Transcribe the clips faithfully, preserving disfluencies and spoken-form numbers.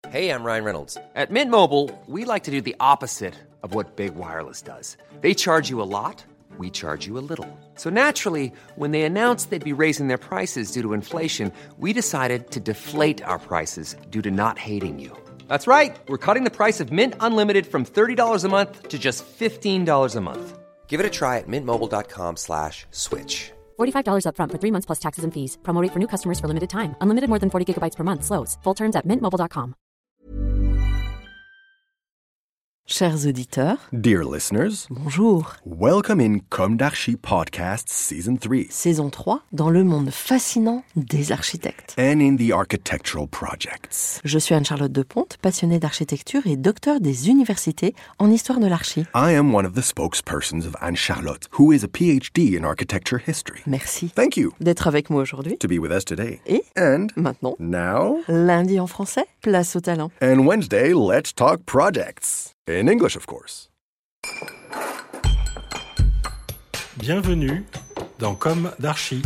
Hey, I'm Ryan Reynolds. At Mint Mobile, we like to do the opposite of what Big Wireless does. They charge you a lot, we charge you a little. So naturally, when they announced they'd be raising their prices due to inflation, we decided to deflate our prices due to not hating you. That's right. We're cutting the price of Mint Unlimited from thirty dollars a month to just fifteen dollars a month. Give it a try at mintmobile.com slash switch. forty-five dollars up front for three months plus taxes and fees. Promo rate for new customers for limited time. Unlimited more than forty gigabytes per month. Slows full terms at mint mobile dot com. Chers auditeurs, dear listeners, bonjour. Welcome in Comme d'Archi Podcast Season three. Saison trois, dans le monde fascinant des architectes. And in the architectural projects. Je suis Anne-Charlotte Deponte, passionnée d'architecture et docteur des universités en histoire de l'archi. I am one of the spokespersons of Anne-Charlotte, who is a P H D in architecture history. Merci. Thank you. D'être avec moi aujourd'hui. To be with us today. Et And maintenant, now, lundi en français, place au talent. And Wednesday, let's talk projects. In English, of course. Bienvenue dans Comme d'Archi.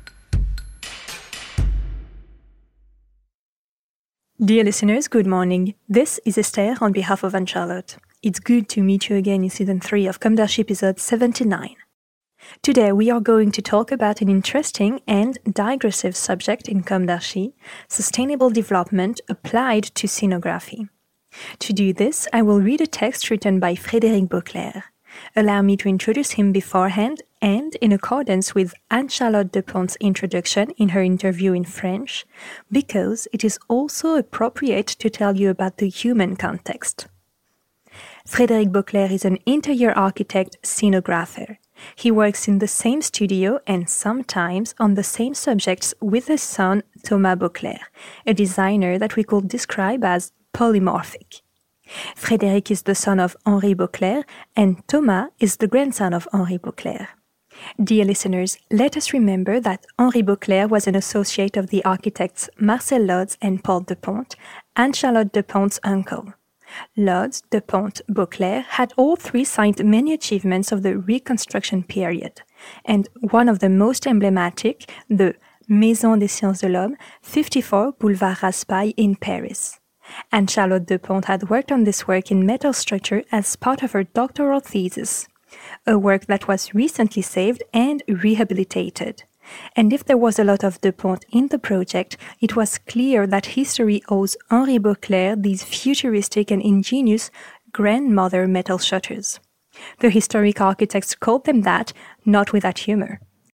Dear listeners, good morning. This is Esther on behalf of Anne-Charlotte. It's good to meet you again in Season three of Comme d'Archi episode seventy-nine. Today we are going to talk about an interesting and digressive subject in Comme d'Archi, sustainable development applied to scenography. To do this, I will read a text written by Frédéric Beauclerc. Allow me to introduce him beforehand and in accordance with Anne-Charlotte Deponte's introduction in her interview in French, because it is also appropriate to tell you about the human context. Frédéric Beauclerc is an interior architect scenographer. He works in the same studio and sometimes on the same subjects with his son Thomas Beauclerc, a designer that we could describe as polymorphic. Frédéric is the son of Henri Beauclerc, and Thomas is the grandson of Henri Beauclerc. Dear listeners, let us remember that Henri Beauclerc was an associate of the architects Marcel Lodz and Paul Deponte, Anne-Charlotte Deponte's uncle. Lodz, Deponte, Beauclerc had all three signed many achievements of the Reconstruction period, and one of the most emblematic, the Maison des Sciences de l'Homme, fifty-four Boulevard Raspail in Paris. Anne-Charlotte Deponte had worked on this work in metal structure as part of her doctoral thesis, a work that was recently saved and rehabilitated. And if there was a lot of Deponte in the project, it was clear that history owes Henri Beauclerc these futuristic and ingenious grandmother metal shutters. The historic architects called them that, not without humor.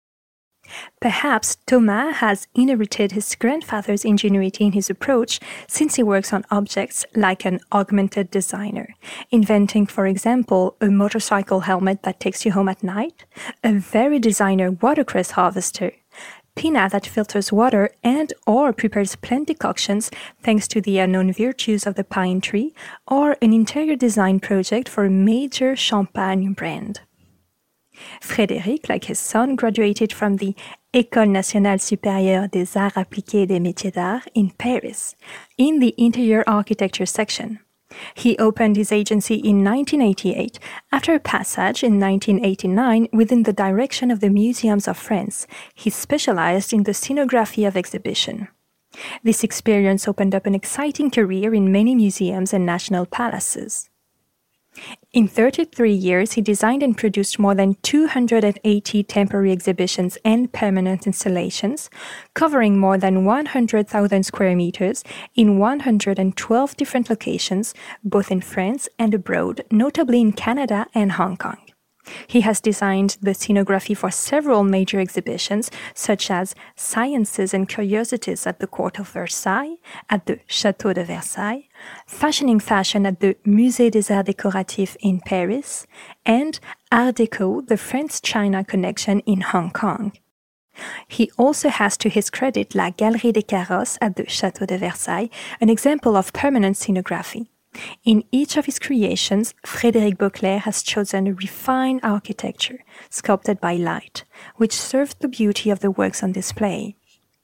Perhaps Thomas has inherited his grandfather's ingenuity in his approach since he works on objects like an augmented designer, inventing, for example, a motorcycle helmet that takes you home at night, a very designer watercress harvester, Pina that filters water and or prepares plant decoctions thanks to the unknown virtues of the pine tree, or an interior design project for a major champagne brand. Frédéric, like his son, graduated from the École nationale supérieure des arts appliqués et des métiers d'art in Paris, in the interior architecture section. He opened his agency in nineteen eighty-eight, after a passage in nineteen eighty-nine within the direction of the Museums of France. He specialized in the scenography of exhibition. This experience opened up an exciting career in many museums and national palaces. In thirty-three years, he designed and produced more than two hundred eighty temporary exhibitions and permanent installations, covering more than one hundred thousand square meters in one hundred twelve different locations, both in France and abroad, notably in Canada and Hong Kong. He has designed the scenography for several major exhibitions, such as Sciences and Curiosities at the Court of Versailles, at the Château de Versailles, Fashioning Fashion at the Musée des Arts Décoratifs in Paris, and Art Deco, the France-China connection in Hong Kong. He also has to his credit La Galerie des Carrosses at the Château de Versailles, an example of permanent scenography. In each of his creations, Frédéric Beauclerc has chosen a refined architecture, sculpted by light, which serves the beauty of the works on display.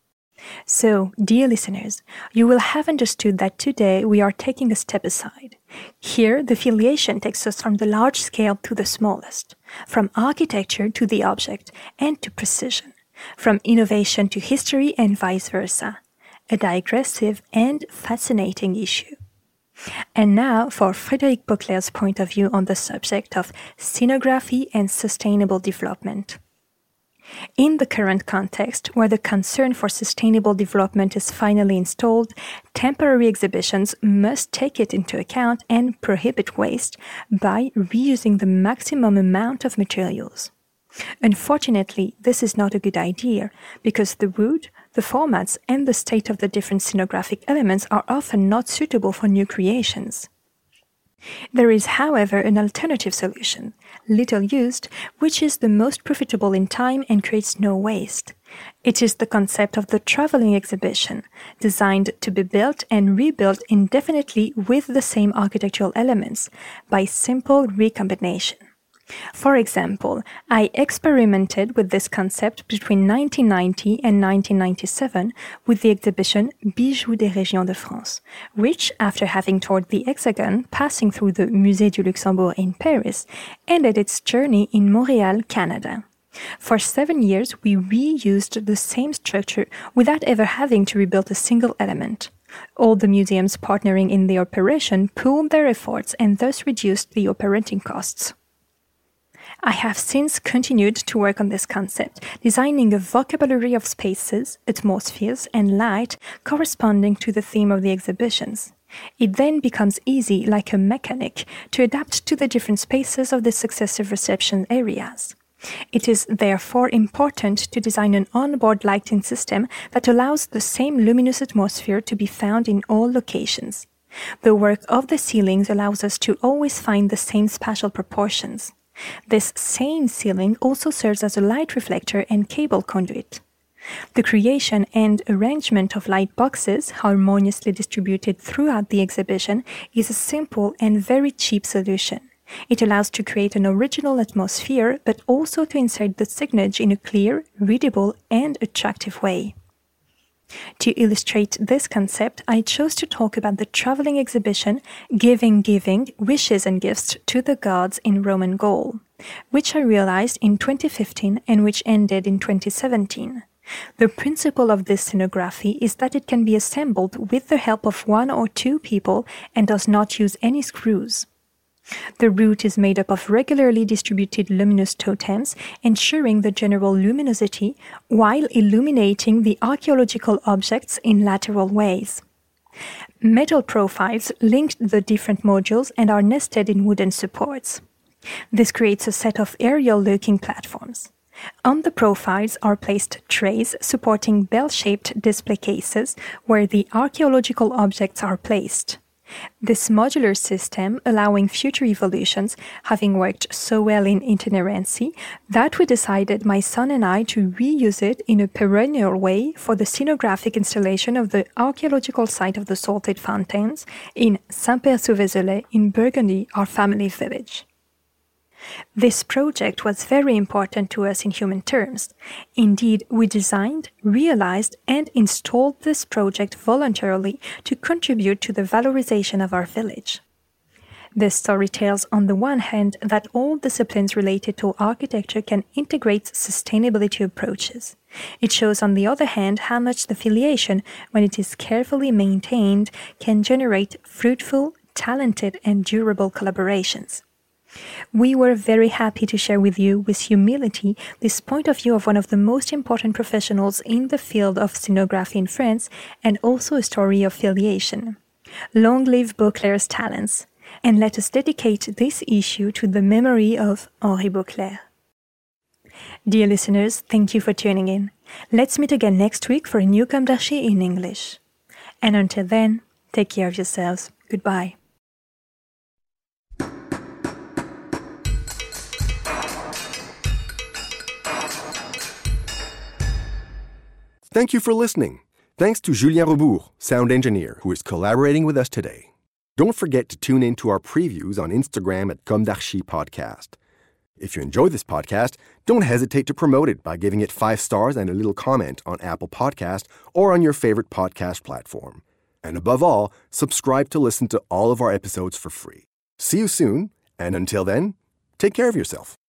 So, dear listeners, you will have understood that today we are taking a step aside. Here, the filiation takes us from the large scale to the smallest, from architecture to the object, and to precision, from innovation to history and vice versa. A digressive and fascinating issue. And now for Frédéric Beauclerc's point of view on the subject of scenography and sustainable development. In the current context, where the concern for sustainable development is finally installed, temporary exhibitions must take it into account and prohibit waste by reusing the maximum amount of materials. Unfortunately, this is not a good idea because the wood, the formats, and the state of the different scenographic elements are often not suitable for new creations. There is, however, an alternative solution, little used, which is the most profitable in time and creates no waste. It is the concept of the traveling exhibition, designed to be built and rebuilt indefinitely with the same architectural elements, by simple recombination. For example, I experimented with this concept between nineteen ninety and nineteen ninety-seven with the exhibition Bijoux des Régions de France, which, after having toured the Hexagon, passing through the Musée du Luxembourg in Paris, ended its journey in Montreal, Canada. For seven years, we reused the same structure without ever having to rebuild a single element. All the museums partnering in the operation pooled their efforts and thus reduced the operating costs. I have since continued to work on this concept, designing a vocabulary of spaces, atmospheres, and light corresponding to the theme of the exhibitions. It then becomes easy, like a mechanic, to adapt to the different spaces of the successive reception areas. It is therefore important to design an onboard lighting system that allows the same luminous atmosphere to be found in all locations. The work of the ceilings allows us to always find the same spatial proportions. This same ceiling also serves as a light reflector and cable conduit. The creation and arrangement of light boxes, harmoniously distributed throughout the exhibition, is a simple and very cheap solution. It allows to create an original atmosphere, but also to insert the signage in a clear, readable, and attractive way. To illustrate this concept, I chose to talk about the traveling exhibition Giving Giving, Wishes and Gifts to the Gods in Roman Gaul, which I realized in twenty fifteen and which ended in twenty seventeen. The principle of this scenography is that it can be assembled with the help of one or two people and does not use any screws. The route is made up of regularly distributed luminous totems, ensuring the general luminosity while illuminating the archaeological objects in lateral ways. Metal profiles link the different modules and are nested in wooden supports. This creates a set of aerial-looking platforms. On the profiles are placed trays supporting bell-shaped display cases where the archaeological objects are placed. This modular system, allowing future evolutions, having worked so well in itinerancy, that we decided, my son and I, to reuse it in a perennial way for the scenographic installation of the archaeological site of the Salted Fountains in Saint-Père-sous-Vézelay in Burgundy, our family village. This project was very important to us in human terms. Indeed, we designed, realized, and installed this project voluntarily to contribute to the valorization of our village. This story tells, on the one hand, that all disciplines related to architecture can integrate sustainability approaches. It shows, on the other hand, how much the filiation, when it is carefully maintained, can generate fruitful, talented, and durable collaborations. We were very happy to share with you, with humility, this point of view of one of the most important professionals in the field of scenography in France, and also a story of filiation. Long live Beauclerc's talents, and let us dedicate this issue to the memory of Henri Beauclerc. Dear listeners, thank you for tuning in. Let's meet again next week for a new Comme d'Archi in English. And until then, take care of yourselves. Goodbye. Thank you for listening. Thanks to Julien Rebourg, sound engineer, who is collaborating with us today. Don't forget to tune in to our previews on Instagram at Comme d'Archi Podcast. If you enjoy this podcast, don't hesitate to promote it by giving it five stars and a little comment on Apple Podcast or on your favorite podcast platform. And above all, subscribe to listen to all of our episodes for free. See you soon, and until then, take care of yourself.